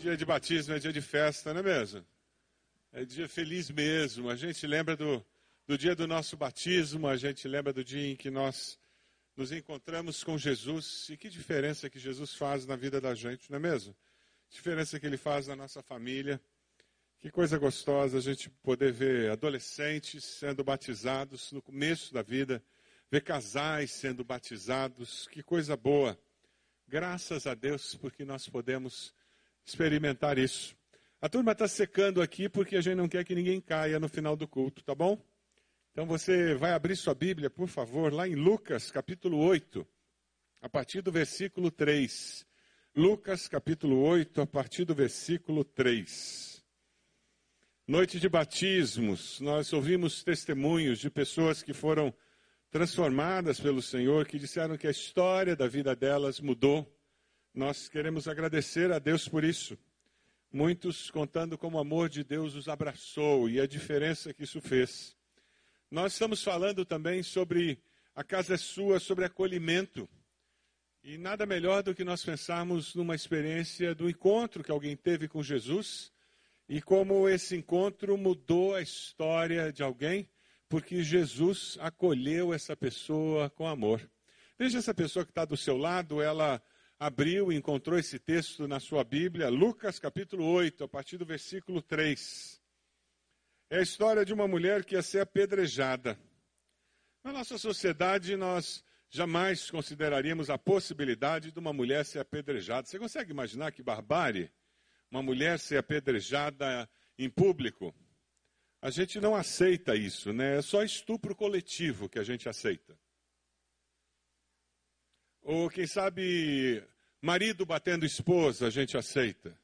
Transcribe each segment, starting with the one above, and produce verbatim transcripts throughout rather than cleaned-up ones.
Dia de batismo é dia de festa, não é mesmo? É dia feliz mesmo. A gente lembra do, do dia do nosso batismo, a gente lembra do dia em que nós nos encontramos com Jesus. E que diferença que Jesus faz na vida da gente, não é mesmo? Diferença que Ele faz na nossa família. Que coisa gostosa a gente poder ver adolescentes sendo batizados no começo da vida, ver casais sendo batizados. Que coisa boa. Graças a Deus, porque nós podemos experimentar isso. A turma está secando aqui porque a gente não quer que ninguém caia no final do culto, tá bom? Então você vai abrir sua Bíblia, por favor, lá em Lucas, capítulo oito, a partir do versículo três. Lucas, capítulo oito, a partir do versículo três. Noite de batismos, nós ouvimos testemunhos de pessoas que foram transformadas pelo Senhor, que disseram que a história da vida delas mudou. Nós queremos agradecer a Deus por isso. Muitos contando como o amor de Deus os abraçou e a diferença que isso fez. Nós estamos falando também sobre a casa é sua, sobre acolhimento. E nada melhor do que nós pensarmos numa experiência do encontro que alguém teve com Jesus e como esse encontro mudou a história de alguém, porque Jesus acolheu essa pessoa com amor. Veja essa pessoa que está do seu lado, ela abriu e encontrou esse texto na sua Bíblia, Lucas capítulo oito, a partir do versículo três. É a história de uma mulher que ia ser apedrejada. Na nossa sociedade, nós jamais consideraríamos a possibilidade de uma mulher ser apedrejada. Você consegue imaginar que barbárie? Uma mulher ser apedrejada em público? A gente não aceita isso, né? É só estupro coletivo que a gente aceita. Ou, quem sabe, marido batendo esposa, a gente aceita.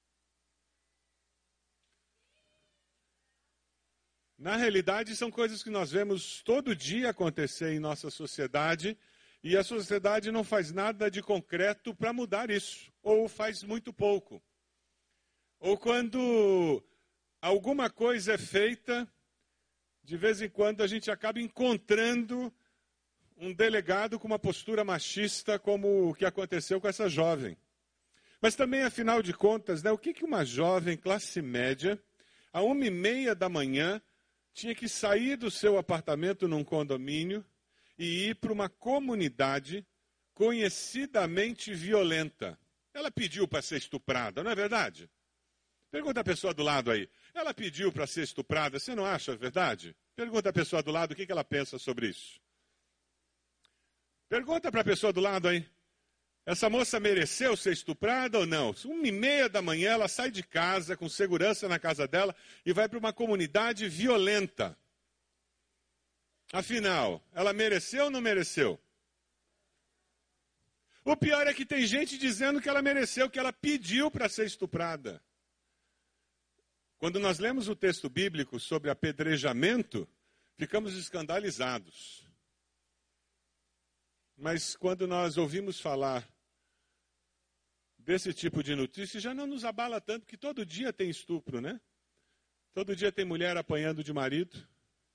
Na realidade, são coisas que nós vemos todo dia acontecer em nossa sociedade, e a sociedade não faz nada de concreto para mudar isso, ou faz muito pouco. Ou quando alguma coisa é feita, de vez em quando a gente acaba encontrando um delegado com uma postura machista, como o que aconteceu com essa jovem. Mas também, afinal de contas, né, o que, que uma jovem classe média, a uma e meia da manhã, tinha que sair do seu apartamento num condomínio e ir para uma comunidade conhecidamente violenta? Ela pediu para ser estuprada, não é verdade? Pergunta a pessoa do lado aí. Ela pediu para ser estuprada, você não acha verdade? Pergunta a pessoa do lado o que, que ela pensa sobre isso. Pergunta para a pessoa do lado aí, essa moça mereceu ser estuprada ou não? Uma e meia da manhã ela sai de casa, com segurança na casa dela, e vai para uma comunidade violenta. Afinal, ela mereceu ou não mereceu? O pior é que tem gente dizendo que ela mereceu, que ela pediu para ser estuprada. Quando nós lemos o texto bíblico sobre apedrejamento, ficamos escandalizados. Mas quando nós ouvimos falar desse tipo de notícia, já não nos abala tanto, porque todo dia tem estupro, né? Todo dia tem mulher apanhando de marido.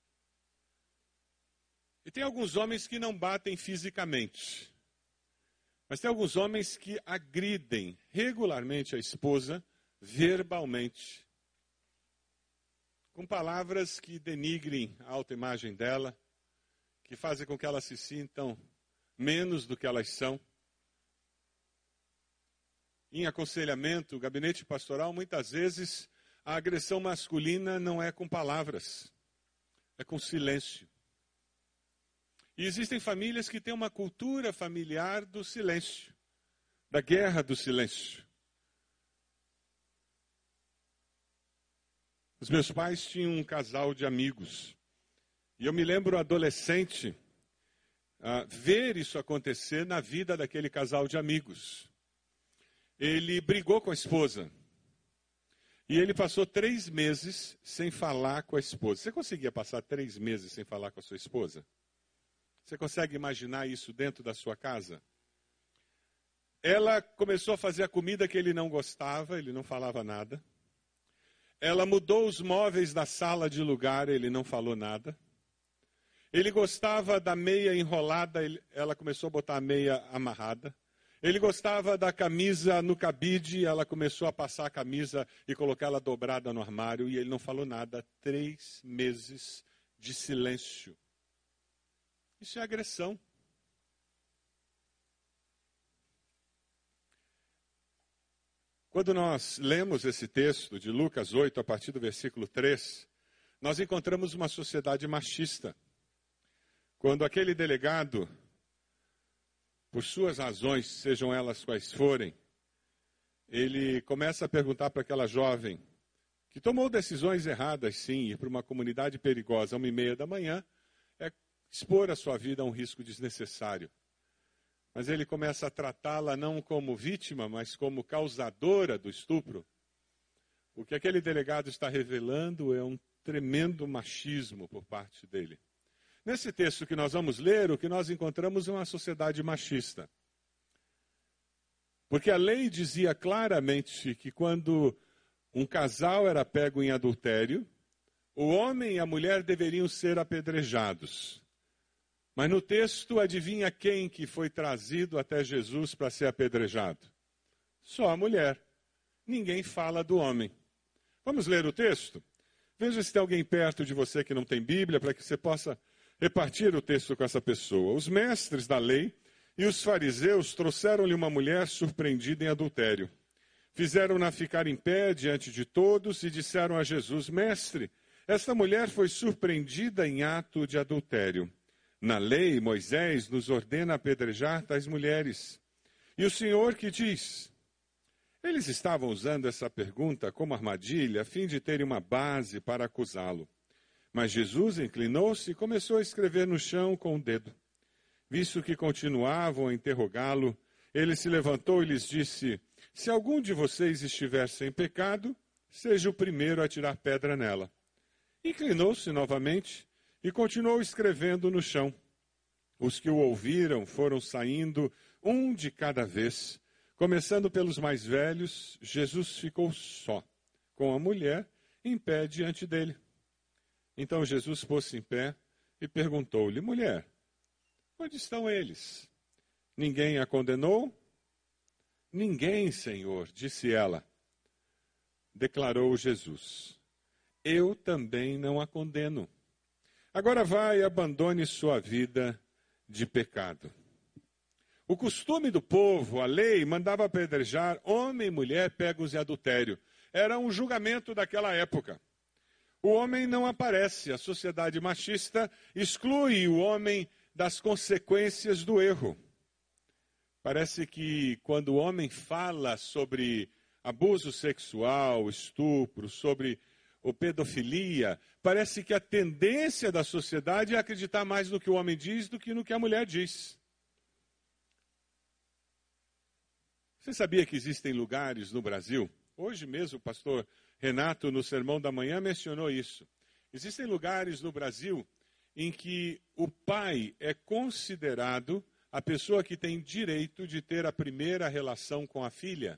E tem alguns homens que não batem fisicamente. Mas tem alguns homens que agridem regularmente a esposa, verbalmente. Com palavras que denigrem a autoimagem dela, que fazem com que elas se sintam menos do que elas são. Em aconselhamento, gabinete pastoral, muitas vezes a agressão masculina não é com palavras, é com silêncio. E existem famílias que têm uma cultura familiar do silêncio, da guerra do silêncio. Os meus pais tinham um casal de amigos, e eu me lembro adolescente, Uh, ver isso acontecer na vida daquele casal de amigos. Ele brigou com a esposa. E ele passou três meses sem falar com a esposa. Você conseguia passar três meses sem falar com a sua esposa? Você consegue imaginar isso dentro da sua casa? Ela começou a fazer a comida que ele não gostava, ele não falava nada. Ela mudou os móveis da sala de lugar, ele não falou nada. Ele gostava da meia enrolada, ele, ela começou a botar a meia amarrada. Ele gostava da camisa no cabide, ela começou a passar a camisa e colocar ela dobrada no armário, e ele não falou nada. Três meses de silêncio. Isso é agressão. Quando nós lemos esse texto de Lucas oito, a partir do versículo três, nós encontramos uma sociedade machista. Quando aquele delegado, por suas razões, sejam elas quais forem, ele começa a perguntar para aquela jovem, que tomou decisões erradas, sim, ir para uma comunidade perigosa a uma e meia da manhã, é expor a sua vida a um risco desnecessário. Mas ele começa a tratá-la não como vítima, mas como causadora do estupro. O que aquele delegado está revelando é um tremendo machismo por parte dele. Nesse texto que nós vamos ler, o que nós encontramos é uma sociedade machista. Porque a lei dizia claramente que quando um casal era pego em adultério, o homem e a mulher deveriam ser apedrejados. Mas no texto, adivinha quem que foi trazido até Jesus para ser apedrejado? Só a mulher. Ninguém fala do homem. Vamos ler o texto? Veja se tem alguém perto de você que não tem Bíblia, para que você possa repartir o texto com essa pessoa. Os mestres da lei e os fariseus trouxeram-lhe uma mulher surpreendida em adultério. Fizeram-na ficar em pé diante de todos e disseram a Jesus: Mestre, esta mulher foi surpreendida em ato de adultério. Na lei, Moisés nos ordena apedrejar tais mulheres. E o Senhor que diz? Eles estavam usando essa pergunta como armadilha, a fim de terem uma base para acusá-lo. Mas Jesus inclinou-se e começou a escrever no chão com o dedo. Visto que continuavam a interrogá-lo, ele se levantou e lhes disse: Se algum de vocês estiver sem pecado, seja o primeiro a tirar pedra nela. Inclinou-se novamente e continuou escrevendo no chão. Os que o ouviram foram saindo, um de cada vez. Começando pelos mais velhos, Jesus ficou só, com a mulher em pé diante dele. Então Jesus pôs-se em pé e perguntou-lhe: Mulher, onde estão eles? Ninguém a condenou? Ninguém, Senhor, disse ela. Declarou Jesus: Eu também não a condeno. Agora vai e abandone sua vida de pecado. O costume do povo, a lei, mandava apedrejar homem e mulher pegos em adultério. Era um julgamento daquela época. O homem não aparece. A sociedade machista exclui o homem das consequências do erro. Parece que quando o homem fala sobre abuso sexual, estupro, sobre ou pedofilia, parece que a tendência da sociedade é acreditar mais no que o homem diz do que no que a mulher diz. Você sabia que existem lugares no Brasil? Hoje mesmo o pastor Renato, no Sermão da Manhã, mencionou isso. Existem lugares no Brasil em que o pai é considerado a pessoa que tem direito de ter a primeira relação com a filha.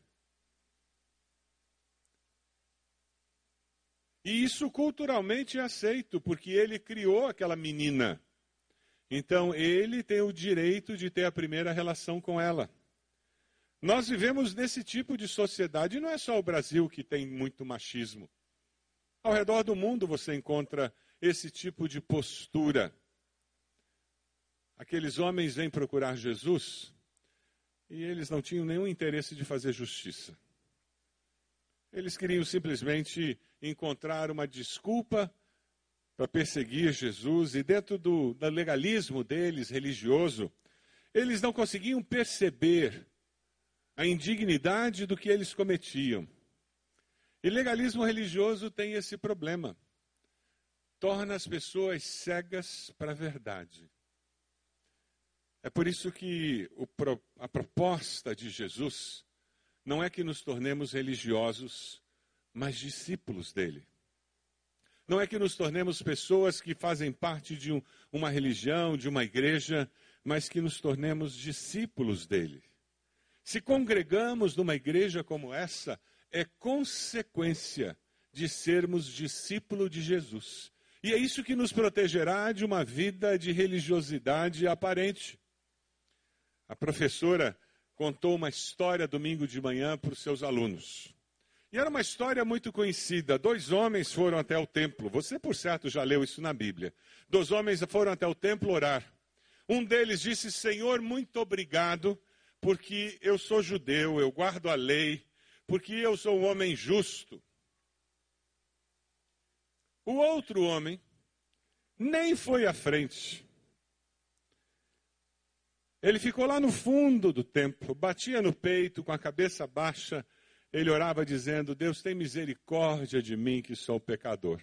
E isso culturalmente é aceito, porque ele criou aquela menina. Então, ele tem o direito de ter a primeira relação com ela. Nós vivemos nesse tipo de sociedade, e não é só o Brasil que tem muito machismo. Ao redor do mundo você encontra esse tipo de postura. Aqueles homens vêm procurar Jesus, e eles não tinham nenhum interesse de fazer justiça. Eles queriam simplesmente encontrar uma desculpa para perseguir Jesus, e dentro do, do legalismo deles, religioso, eles não conseguiam perceber a indignidade do que eles cometiam. E legalismo religioso tem esse problema. Torna as pessoas cegas para a verdade. É por isso que o, a proposta de Jesus não é que nos tornemos religiosos, mas discípulos dele. Não é que nos tornemos pessoas que fazem parte de um, uma religião, de uma igreja, mas que nos tornemos discípulos dele. Se congregamos numa igreja como essa, é consequência de sermos discípulos de Jesus. E é isso que nos protegerá de uma vida de religiosidade aparente. A professora contou uma história domingo de manhã para os seus alunos. E era uma história muito conhecida. Dois homens foram até o templo. Você, por certo, já leu isso na Bíblia. Dois homens foram até o templo orar. Um deles disse: Senhor, muito obrigado, porque eu sou judeu, eu guardo a lei, porque eu sou um homem justo. O outro homem nem foi à frente. Ele ficou lá no fundo do templo, batia no peito, com a cabeça baixa. Ele orava dizendo: Deus, tem misericórdia de mim, que sou pecador.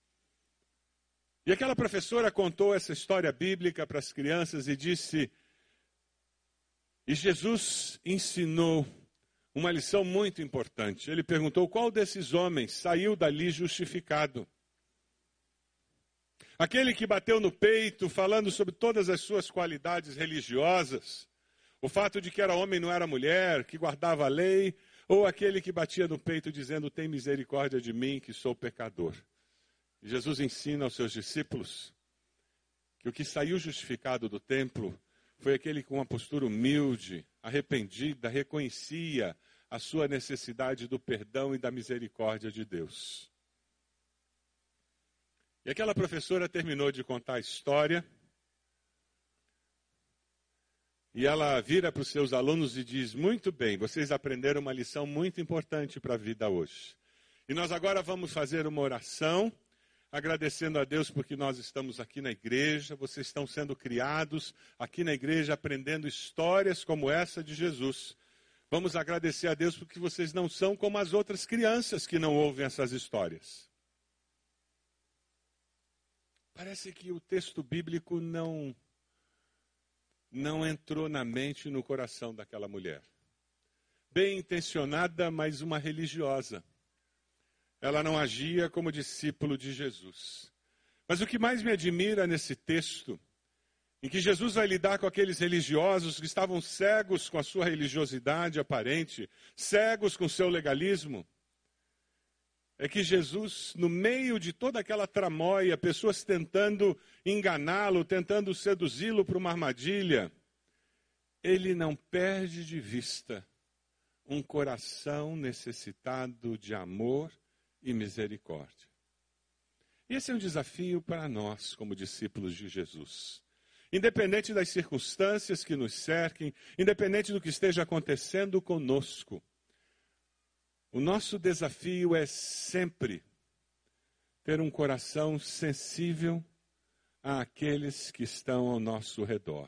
E aquela professora contou essa história bíblica para as crianças e disse: e Jesus ensinou uma lição muito importante. Ele perguntou: qual desses homens saiu dali justificado? Aquele que bateu no peito, falando sobre todas as suas qualidades religiosas, o fato de que era homem, não era mulher, que guardava a lei, ou aquele que batia no peito dizendo: tem misericórdia de mim, que sou pecador. E Jesus ensina aos seus discípulos que o que saiu justificado do templo foi aquele com uma postura humilde, arrependida, reconhecia a sua necessidade do perdão e da misericórdia de Deus. E aquela professora terminou de contar a história, e ela vira para os seus alunos e diz: muito bem, vocês aprenderam uma lição muito importante para a vida hoje. E nós agora vamos fazer uma oração, agradecendo a Deus porque nós estamos aqui na igreja, vocês estão sendo criados aqui na igreja, aprendendo histórias como essa de Jesus. Vamos agradecer a Deus porque vocês não são como as outras crianças que não ouvem essas histórias. Parece que o texto bíblico não, não entrou na mente e no coração daquela mulher. Bem intencionada, mas uma religiosa. Ela não agia como discípulo de Jesus. Mas o que mais me admira nesse texto, em que Jesus vai lidar com aqueles religiosos que estavam cegos com a sua religiosidade aparente, cegos com o seu legalismo, é que Jesus, no meio de toda aquela tramóia, pessoas tentando enganá-lo, tentando seduzi-lo para uma armadilha, ele não perde de vista um coração necessitado de amor e misericórdia. E esse é um desafio para nós, como discípulos de Jesus. Independente das circunstâncias que nos cerquem, independente do que esteja acontecendo conosco, o nosso desafio é sempre ter um coração sensível àqueles que estão ao nosso redor.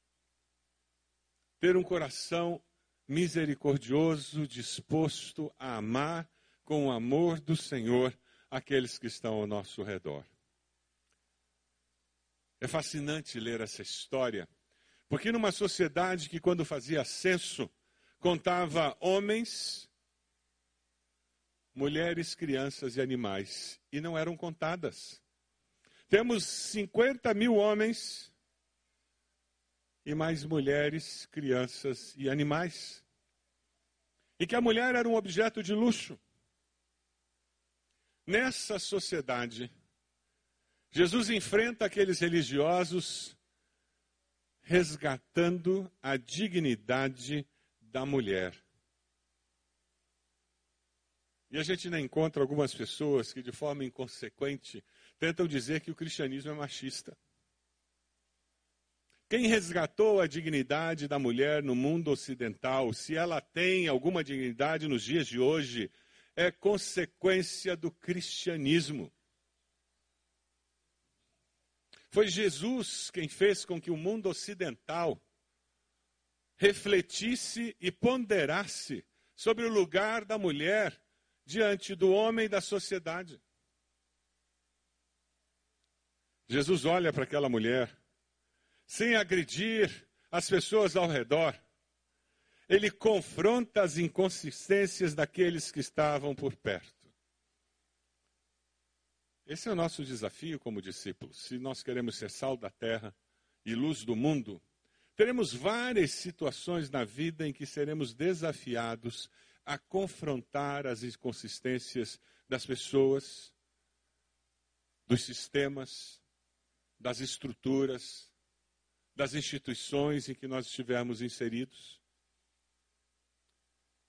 Ter um coração misericordioso, disposto a amar com o amor do Senhor aqueles que estão ao nosso redor. É fascinante ler essa história, porque numa sociedade que, quando fazia censo, contava homens, mulheres, crianças e animais, e não eram contadas. Temos cinquenta mil homens e mais mulheres, crianças e animais. E que a mulher era um objeto de luxo. Nessa sociedade, Jesus enfrenta aqueles religiosos resgatando a dignidade da mulher. E a gente ainda encontra algumas pessoas que, de forma inconsequente, tentam dizer que o cristianismo é machista. Quem resgatou a dignidade da mulher no mundo ocidental, se ela tem alguma dignidade nos dias de hoje, é consequência do cristianismo. Foi Jesus quem fez com que o mundo ocidental refletisse e ponderasse sobre o lugar da mulher diante do homem e da sociedade. Jesus olha para aquela mulher, sem agredir as pessoas ao redor. Ele confronta as inconsistências daqueles que estavam por perto. Esse é o nosso desafio como discípulos. Se nós queremos ser sal da terra e luz do mundo, teremos várias situações na vida em que seremos desafiados a confrontar as inconsistências das pessoas, dos sistemas, das estruturas, das instituições em que nós estivermos inseridos.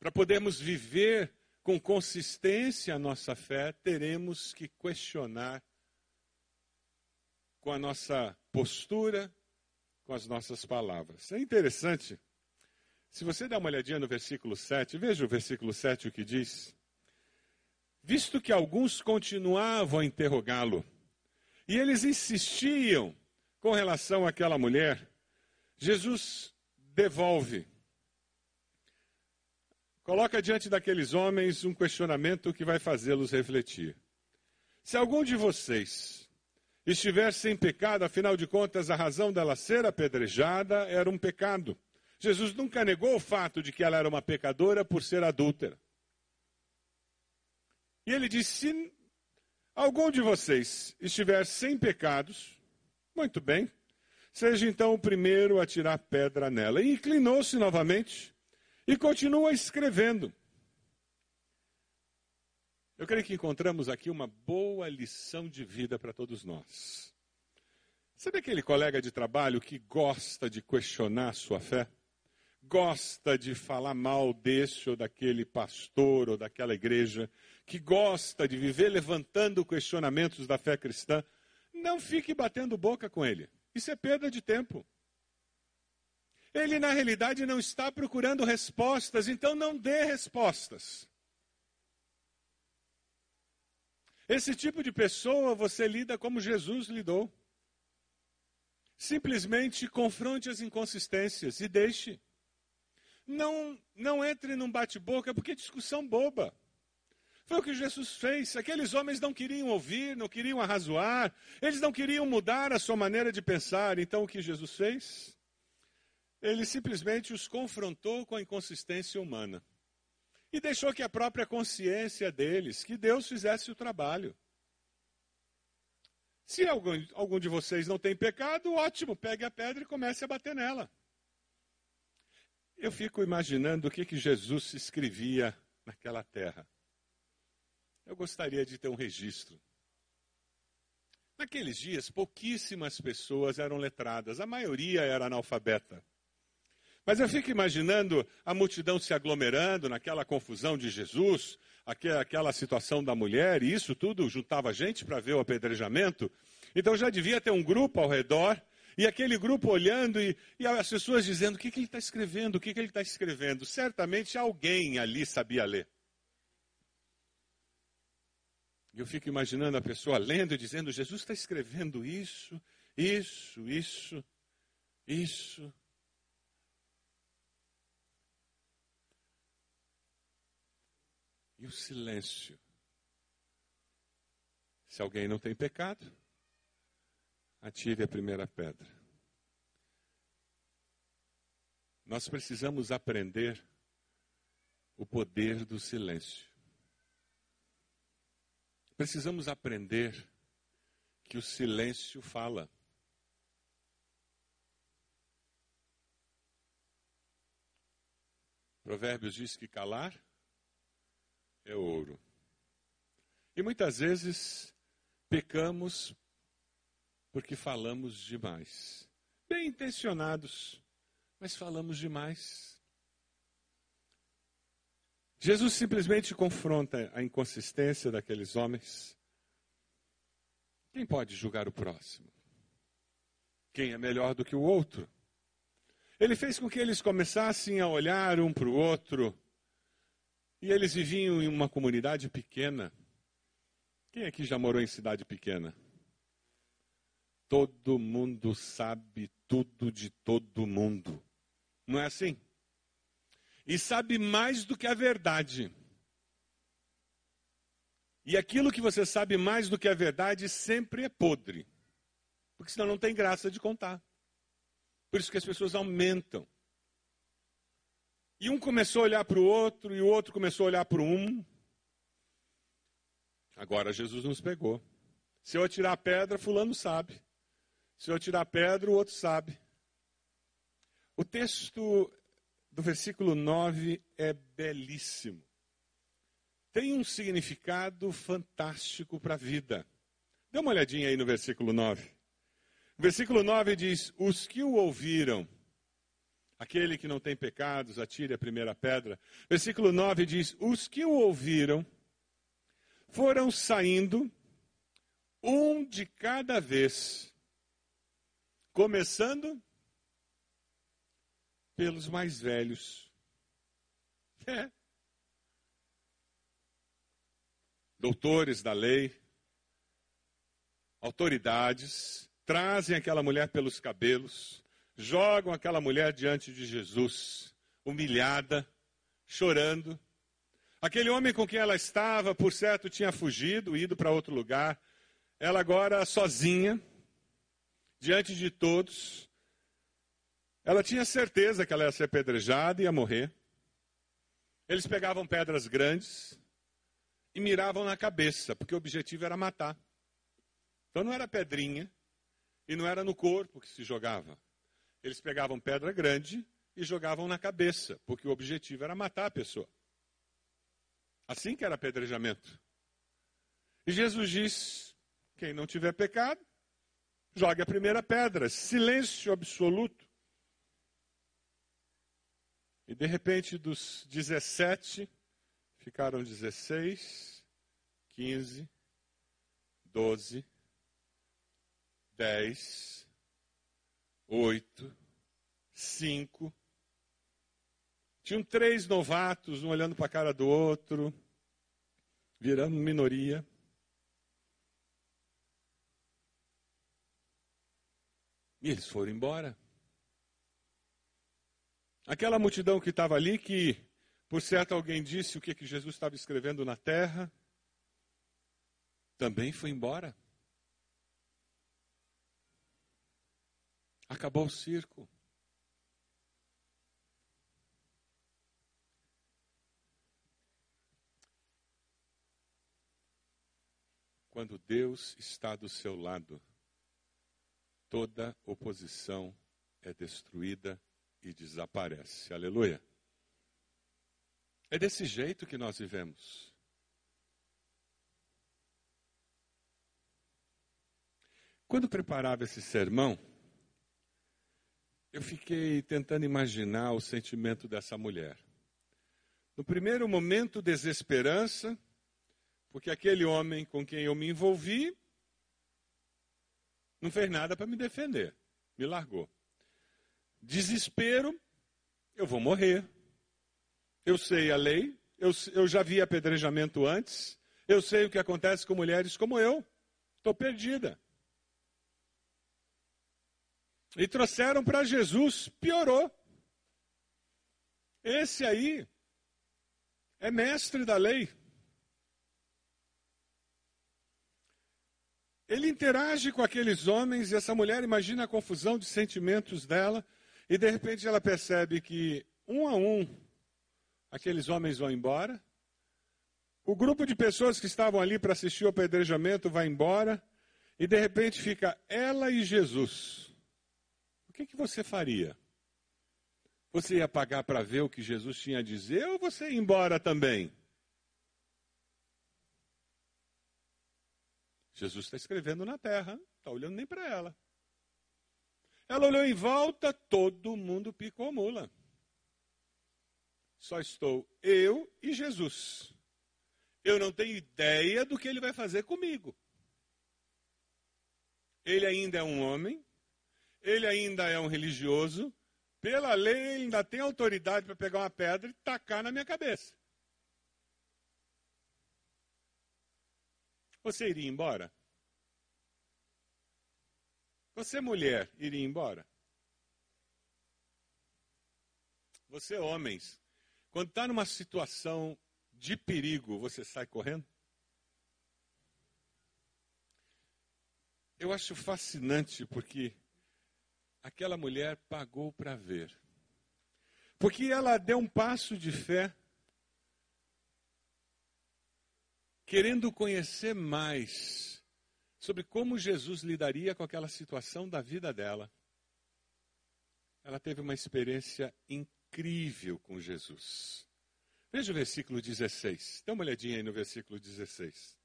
Para podermos viver com consistência a nossa fé, teremos que questionar com a nossa postura, com as nossas palavras. É interessante, se você dá uma olhadinha no versículo sete, veja o versículo sete o que diz. Visto que alguns continuavam a interrogá-lo, e eles insistiam com relação àquela mulher, Jesus devolve. Coloca diante daqueles homens um questionamento que vai fazê-los refletir. Se algum de vocês estiver sem pecado, afinal de contas, a razão dela ser apedrejada era um pecado. Jesus nunca negou o fato de que ela era uma pecadora por ser adúltera. E ele disse, se algum de vocês estiver sem pecados, muito bem, seja então o primeiro a tirar pedra nela. E inclinou-se novamente e continua escrevendo. Eu creio que encontramos aqui uma boa lição de vida para todos nós. Sabe aquele colega de trabalho que gosta de questionar a sua fé? Gosta de falar mal desse ou daquele pastor ou daquela igreja, que gosta de viver levantando questionamentos da fé cristã? Não fique batendo boca com ele. Isso é perda de tempo. Ele, na realidade, não está procurando respostas, então não dê respostas. Esse tipo de pessoa você lida como Jesus lidou. Simplesmente confronte as inconsistências e deixe. Não, não entre num bate-boca, porque é discussão boba. Foi o que Jesus fez. Aqueles homens não queriam ouvir, não queriam arrazoar, eles não queriam mudar a sua maneira de pensar. Então o que Jesus fez? Ele simplesmente os confrontou com a inconsistência humana. E deixou que a própria consciência deles, que Deus fizesse o trabalho. Se algum, algum de vocês não tem pecado, ótimo, pegue a pedra e comece a bater nela. Eu fico imaginando o que, que Jesus escrevia naquela terra. Eu gostaria de ter um registro. Naqueles dias, pouquíssimas pessoas eram letradas, a maioria era analfabeta. Mas eu fico imaginando a multidão se aglomerando naquela confusão de Jesus, aquela situação da mulher, e isso tudo juntava gente para ver o apedrejamento. Então já devia ter um grupo ao redor, e aquele grupo olhando, e, e as pessoas dizendo, o que, que ele está escrevendo, o que, que ele está escrevendo? Certamente alguém ali sabia ler. Eu fico imaginando a pessoa lendo e dizendo, Jesus está escrevendo isso, isso, isso, isso. E o silêncio. Se alguém não tem pecado, atire a primeira pedra. Nós precisamos aprender o poder do silêncio. Precisamos aprender que o silêncio fala. Provérbios diz que calar é ouro. E muitas vezes pecamos porque falamos demais. Bem intencionados, mas falamos demais. Jesus simplesmente confronta a inconsistência daqueles homens. Quem pode julgar o próximo? Quem é melhor do que o outro? Ele fez com que eles começassem a olhar um para o outro. E eles viviam em uma comunidade pequena. Quem aqui já morou em cidade pequena? Todo mundo sabe tudo de todo mundo. Não é assim? E sabe mais do que a verdade. E aquilo que você sabe mais do que a verdade sempre é podre. Porque senão não tem graça de contar. Por isso que as pessoas aumentam. E um começou a olhar para o outro, e o outro começou a olhar para um. Agora Jesus nos pegou. Se eu atirar a pedra, fulano sabe. Se eu atirar a pedra, o outro sabe. O texto do versículo nove é belíssimo. Tem um significado fantástico para a vida. Dê uma olhadinha aí no versículo nove. O versículo nove diz, os que o ouviram, Aquele que não tem pecados, atire a primeira pedra. Versículo nove diz: os que o ouviram foram saindo, um de cada vez, começando pelos mais velhos. É. Doutores da lei, autoridades, trazem aquela mulher pelos cabelos, jogam aquela mulher diante de Jesus, humilhada, chorando. Aquele homem com quem ela estava, por certo, tinha fugido, ido para outro lugar. Ela agora sozinha, diante de todos. Ela tinha certeza que ela ia ser apedrejada e ia morrer. Eles pegavam pedras grandes e miravam na cabeça, porque o objetivo era matar. Então não era pedrinha e não era no corpo que se jogava. Eles pegavam pedra grande e jogavam na cabeça, porque o objetivo era matar a pessoa. Assim que era apedrejamento. E Jesus diz: quem não tiver pecado, jogue a primeira pedra. Silêncio absoluto. E de repente dos dezessete, ficaram dezesseis, quinze, doze, dez, oito, cinco. Tinham três novatos, um olhando para a cara do outro, virando minoria. E eles foram embora. Aquela multidão que estava ali, que por certo alguém disse o que, que Jesus estava escrevendo na terra, também foi embora. Acabou o circo. Quando Deus está do seu lado, toda oposição é destruída e desaparece. Aleluia. É desse jeito que nós vivemos. Quando preparava esse sermão, eu fiquei tentando imaginar o sentimento dessa mulher. No primeiro momento, desesperança, porque aquele homem com quem eu me envolvi não fez nada para me defender, me largou. Desespero, eu vou morrer. Eu sei a lei, eu, eu já vi apedrejamento antes, eu sei o que acontece com mulheres como eu, estou perdida. E trouxeram para Jesus, piorou. Esse aí é mestre da lei. Ele interage com aqueles homens e essa mulher imagina a confusão de sentimentos dela e de repente ela percebe que um a um aqueles homens vão embora. O grupo de pessoas que estavam ali para assistir o apedrejamento vai embora e de repente fica ela e Jesus. O que, que você faria? Você ia pagar para ver o que Jesus tinha a dizer ou você ia embora também? Jesus está escrevendo na terra, não está olhando nem para ela. Ela olhou em volta, todo mundo picou mula. Só estou eu e Jesus. Eu não tenho ideia do que ele vai fazer comigo. Ele ainda é um homem, ele ainda é um religioso, pela lei ele ainda tem autoridade para pegar uma pedra e tacar na minha cabeça. Você iria embora? Você, mulher, iria embora? Você, homens, quando está numa situação de perigo, você sai correndo? Eu acho fascinante porque aquela mulher pagou para ver. Porque ela deu um passo de fé, querendo conhecer mais sobre como Jesus lidaria com aquela situação da vida dela. Ela teve uma experiência incrível com Jesus. Veja o versículo dezesseis. Dá uma olhadinha aí no versículo dezesseis.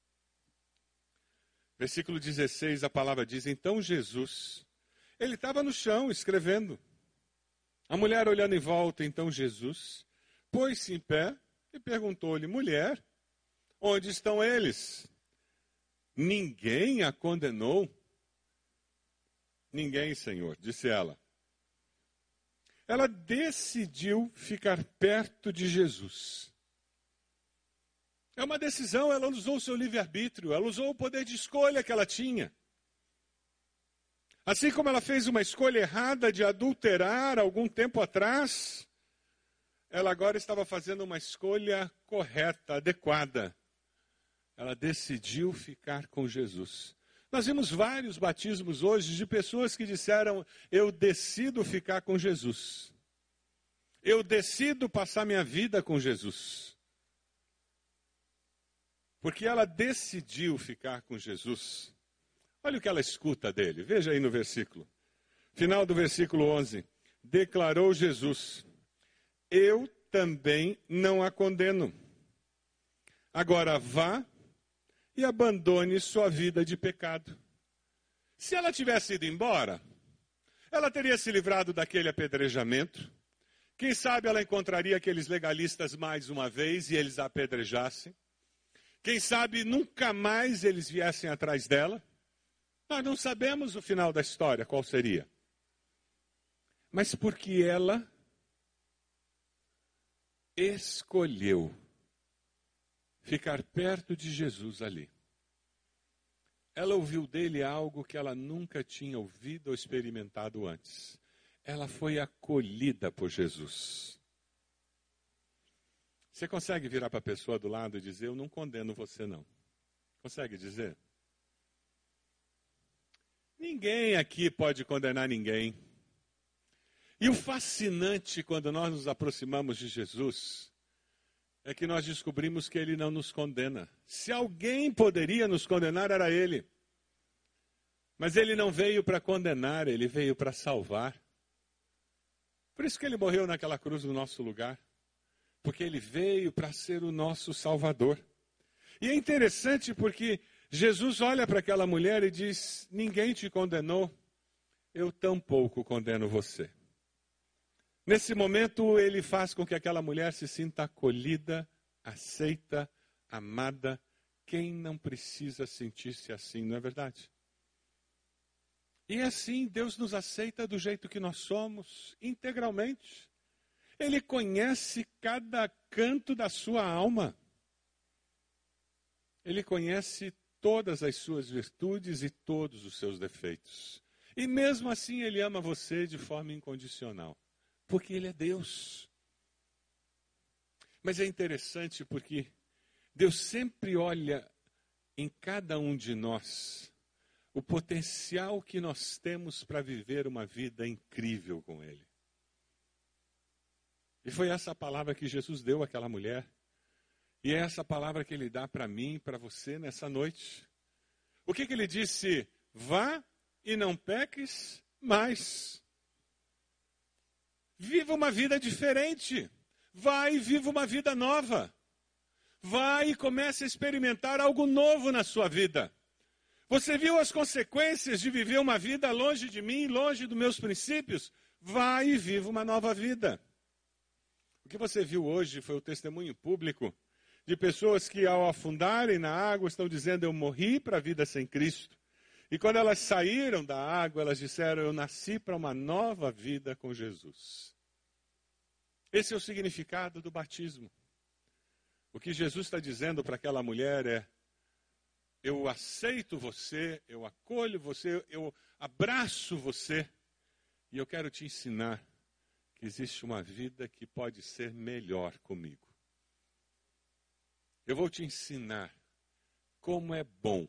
Versículo dezesseis, a palavra diz: então Jesus, ele estava no chão escrevendo. A mulher, olhando em volta, então Jesus pôs-se em pé e perguntou-lhe: mulher, onde estão eles? Ninguém a condenou? Ninguém, Senhor, disse ela. Ela decidiu ficar perto de Jesus. É uma decisão, ela usou o seu livre-arbítrio, ela usou o poder de escolha que ela tinha. Assim como ela fez uma escolha errada de adulterar algum tempo atrás, ela agora estava fazendo uma escolha correta, adequada. Ela decidiu ficar com Jesus. Nós vimos vários batismos hoje de pessoas que disseram: eu decido ficar com Jesus. Eu decido passar minha vida com Jesus. Porque ela decidiu ficar com Jesus. Olha o que ela escuta dele. Veja aí no versículo. Final do versículo onze. Declarou Jesus: eu também não a condeno. Agora vá e abandone sua vida de pecado. Se ela tivesse ido embora, ela teria se livrado daquele apedrejamento. Quem sabe ela encontraria aqueles legalistas mais uma vez e eles a apedrejassem. Quem sabe nunca mais eles viessem atrás dela. Nós não sabemos o final da história, qual seria. Mas porque ela escolheu ficar perto de Jesus ali. Ela ouviu dele algo que ela nunca tinha ouvido ou experimentado antes. Ela foi acolhida por Jesus. Você consegue virar para a pessoa do lado e dizer: eu não condeno você não? Consegue dizer? Ninguém aqui pode condenar ninguém. E o fascinante quando nós nos aproximamos de Jesus é que nós descobrimos que ele não nos condena. Se alguém poderia nos condenar, era ele. Mas ele não veio para condenar, ele veio para salvar. Por isso que ele morreu naquela cruz no nosso lugar. Porque ele veio para ser o nosso Salvador. E é interessante porque Jesus olha para aquela mulher e diz: ninguém te condenou, eu tampouco condeno você. Nesse momento, ele faz com que aquela mulher se sinta acolhida, aceita, amada. Quem não precisa sentir-se assim, não é verdade? E assim, Deus nos aceita do jeito que nós somos, integralmente. Ele conhece cada canto da sua alma. Ele conhece todas as suas virtudes e todos os seus defeitos. E mesmo assim, ele ama você de forma incondicional. Porque ele é Deus. Mas é interessante porque Deus sempre olha em cada um de nós o potencial que nós temos para viver uma vida incrível com ele. E foi essa palavra que Jesus deu àquela mulher. E é essa palavra que ele dá para mim e para você nessa noite. O que, que ele disse? Vá e não peques mais. Viva uma vida diferente. Vai e viva uma vida nova. Vai e comece a experimentar algo novo na sua vida. Você viu as consequências de viver uma vida longe de mim, longe dos meus princípios? Vai e viva uma nova vida. O que você viu hoje foi o testemunho público de pessoas que, ao afundarem na água, estão dizendo: eu morri para a vida sem Cristo. E quando elas saíram da água, elas disseram: eu nasci para uma nova vida com Jesus. Esse é o significado do batismo. O que Jesus está dizendo para aquela mulher é: eu aceito você, eu acolho você, eu abraço você, e eu quero te ensinar que existe uma vida que pode ser melhor comigo. Eu vou te ensinar como é bom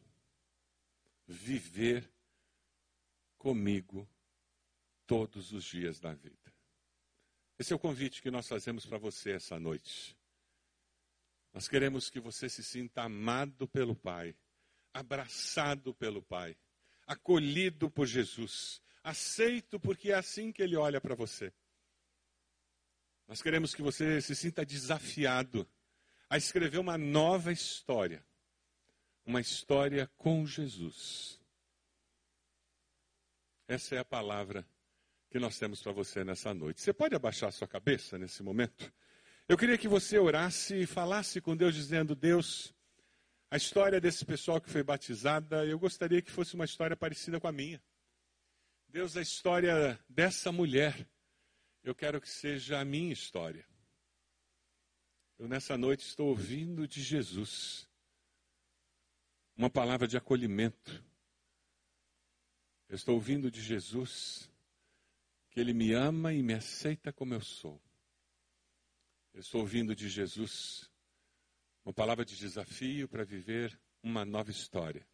viver comigo todos os dias da vida. Esse é o convite que nós fazemos para você essa noite. Nós queremos que você se sinta amado pelo Pai, abraçado pelo Pai, acolhido por Jesus, aceito porque é assim que Ele olha para você. Nós queremos que você se sinta desafiado a escrever uma nova história. Uma história com Jesus. Essa é a palavra que nós temos para você nessa noite. Você pode abaixar sua cabeça nesse momento? Eu queria que você orasse e falasse com Deus, dizendo: Deus, a história desse pessoal que foi batizada, eu gostaria que fosse uma história parecida com a minha. Deus, a história dessa mulher, eu quero que seja a minha história. Eu nessa noite estou ouvindo de Jesus uma palavra de acolhimento. Eu estou ouvindo de Jesus que Ele me ama e me aceita como eu sou. Eu estou ouvindo de Jesus uma palavra de desafio para viver uma nova história.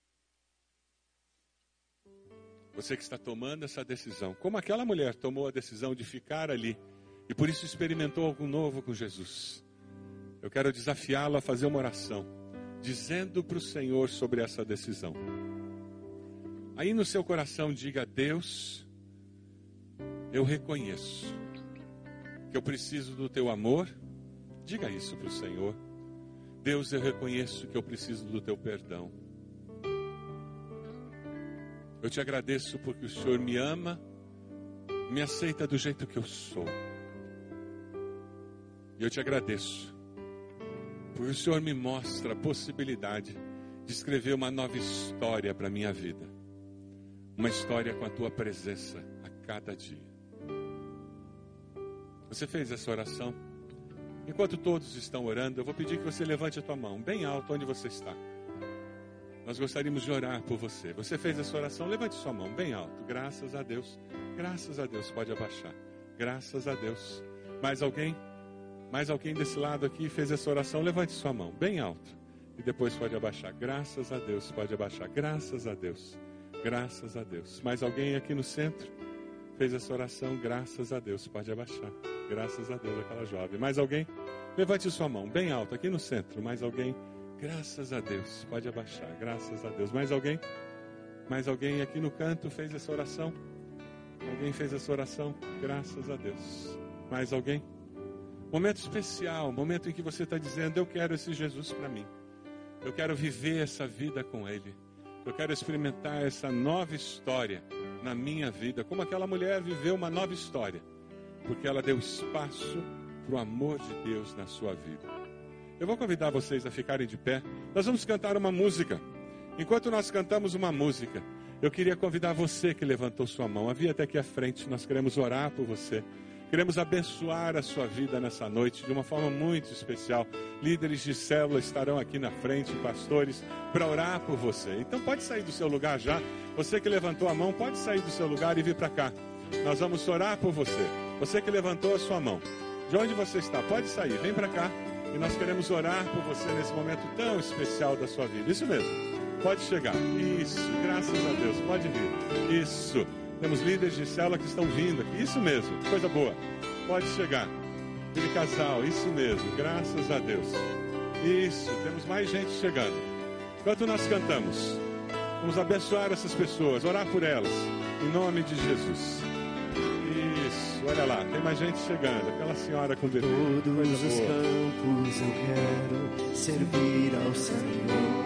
Você que está tomando essa decisão, como aquela mulher tomou a decisão de ficar ali e por isso experimentou algo novo com Jesus, eu quero desafiá-lo a fazer uma oração, dizendo para o Senhor sobre essa decisão. Aí no seu coração diga: Deus, eu reconheço que eu preciso do teu amor. Diga isso para o Senhor. Deus, eu reconheço que eu preciso do teu perdão. Eu te agradeço porque o Senhor me ama, me aceita do jeito que eu sou. E eu te agradeço porque o Senhor me mostra a possibilidade de escrever uma nova história para a minha vida. Uma história com a tua presença a cada dia. Você fez essa oração? Enquanto todos estão orando, eu vou pedir que você levante a tua mão bem alto onde você está. Nós gostaríamos de orar por você. Você fez essa oração? Levante sua mão bem alto. Graças a Deus. Graças a Deus. Pode abaixar. Graças a Deus. Mais alguém? Mais alguém desse lado aqui fez essa oração? Levante sua mão bem alto. E depois pode abaixar. Graças a Deus. Pode abaixar. Graças a Deus. Graças a Deus. Mais alguém aqui no centro fez essa oração? Graças a Deus. Pode abaixar. Graças a Deus, aquela jovem. Mais alguém? Levante sua mão bem alto aqui no centro. Mais alguém? Graças a Deus. Pode abaixar. Graças a Deus. Mais alguém? Mais alguém aqui no canto fez essa oração? Alguém fez essa oração? Graças a Deus. Mais alguém? Momento especial, momento em que você está dizendo: eu quero esse Jesus para mim. Eu quero viver essa vida com Ele. Eu quero experimentar essa nova história na minha vida, como aquela mulher viveu uma nova história, porque ela deu espaço para o amor de Deus na sua vida. Eu vou convidar vocês a ficarem de pé. Nós vamos cantar uma música. Enquanto nós cantamos uma música, eu queria convidar você que levantou sua mão a vir até aqui à frente. Nós queremos orar por você. Queremos abençoar a sua vida nessa noite de uma forma muito especial. Líderes de célula estarão aqui na frente, pastores, para orar por você. Então pode sair do seu lugar já. Você que levantou a mão, pode sair do seu lugar e vir para cá. Nós vamos orar por você. Você que levantou a sua mão, de onde você está, pode sair, vem para cá. E nós queremos orar por você nesse momento tão especial da sua vida. Isso mesmo, pode chegar. Isso, graças a Deus, pode vir. Isso. Temos líderes de célula que estão vindo aqui. Isso mesmo, coisa boa. Pode chegar. Aquele casal, isso mesmo, graças a Deus. Isso, temos mais gente chegando. Enquanto nós cantamos, vamos abençoar essas pessoas, orar por elas, em nome de Jesus. Isso, olha lá, tem mais gente chegando. Aquela senhora com bebê. Todos os campos eu quero servir ao Senhor.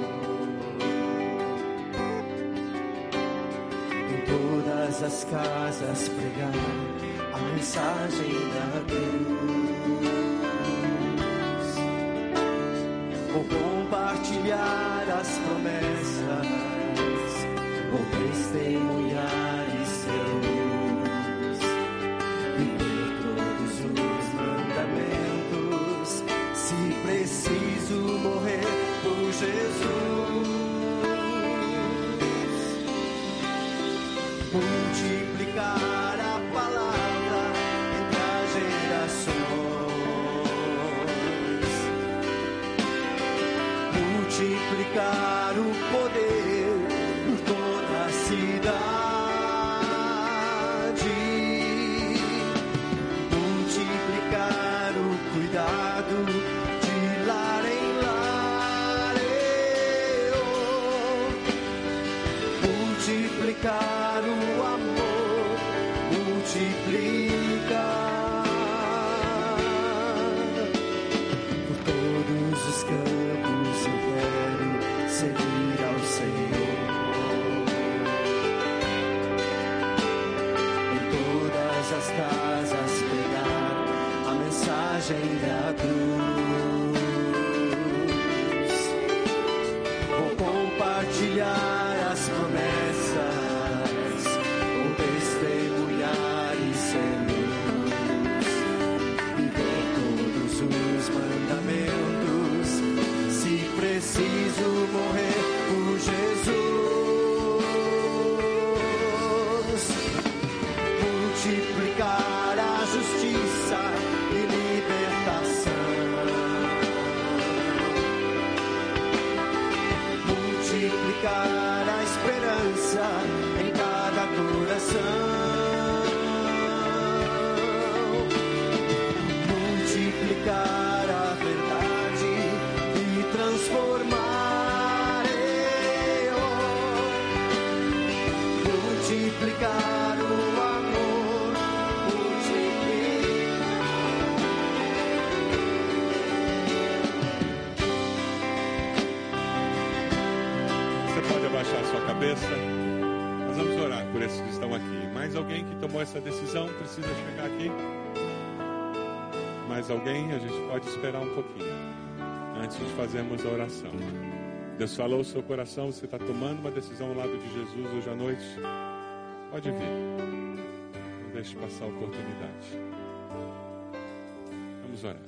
Todas as casas pregar a mensagem da cruz. Vou compartilhar as promessas, vou testemunhar e ser luz, viver todos os mandamentos, se preciso morrer por Jesus. Multiplicar a palavra entre as gerações, multiplicar o poder por toda a cidade, multiplicar o cuidado de lar em lar, multiplicar o amor, multiplicar por todos os campos eu quero servir ao Senhor. Em preciso morrer por Jesus. Multiplicar a justiça e libertação. Multiplicar a esperança em cada coração. Multiplicar a verdade e transformar eu. Multiplicar o amor. Multiplicar. Você pode abaixar a sua cabeça. Nós vamos orar por esses que estão aqui. Mais alguém que tomou essa decisão precisa chegar aqui? Mais alguém? A gente pode esperar um pouquinho antes de fazermos a oração. Deus falou o seu coração, você está tomando uma decisão ao lado de Jesus hoje à noite? Pode vir. Não deixe passar a oportunidade. Vamos orar.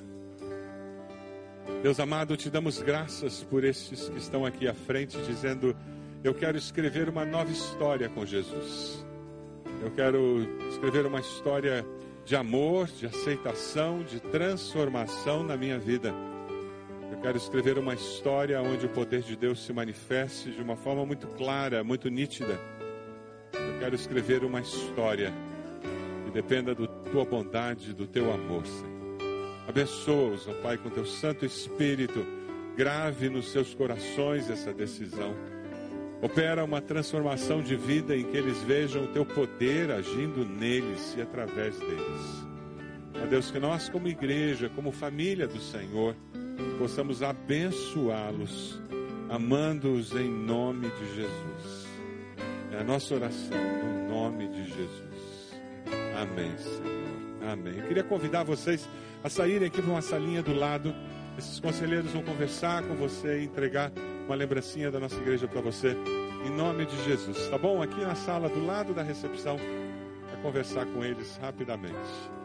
Deus amado, te damos graças por estes que estão aqui à frente dizendo: eu quero escrever uma nova história com Jesus. Eu quero escrever uma história de amor, de aceitação, de transformação na minha vida. Eu quero escrever uma história onde o poder de Deus se manifeste de uma forma muito clara, muito nítida. Eu quero escrever uma história que dependa da tua bondade, do teu amor, Senhor. Abençoa-os, ó Pai, com teu Santo Espírito. Grave nos seus corações essa decisão. Opera uma transformação de vida em que eles vejam o teu poder agindo neles e através deles. Ó Deus, que nós como igreja, como família do Senhor, possamos abençoá-los, amando-os em nome de Jesus. É a nossa oração, no nome de Jesus. Amém, Senhor. Amém. Eu queria convidar vocês a saírem aqui para uma salinha do lado. Esses conselheiros vão conversar com você e entregar uma lembrancinha da nossa igreja para você, em nome de Jesus, tá bom? Aqui na sala do lado da recepção, para conversar com eles rapidamente.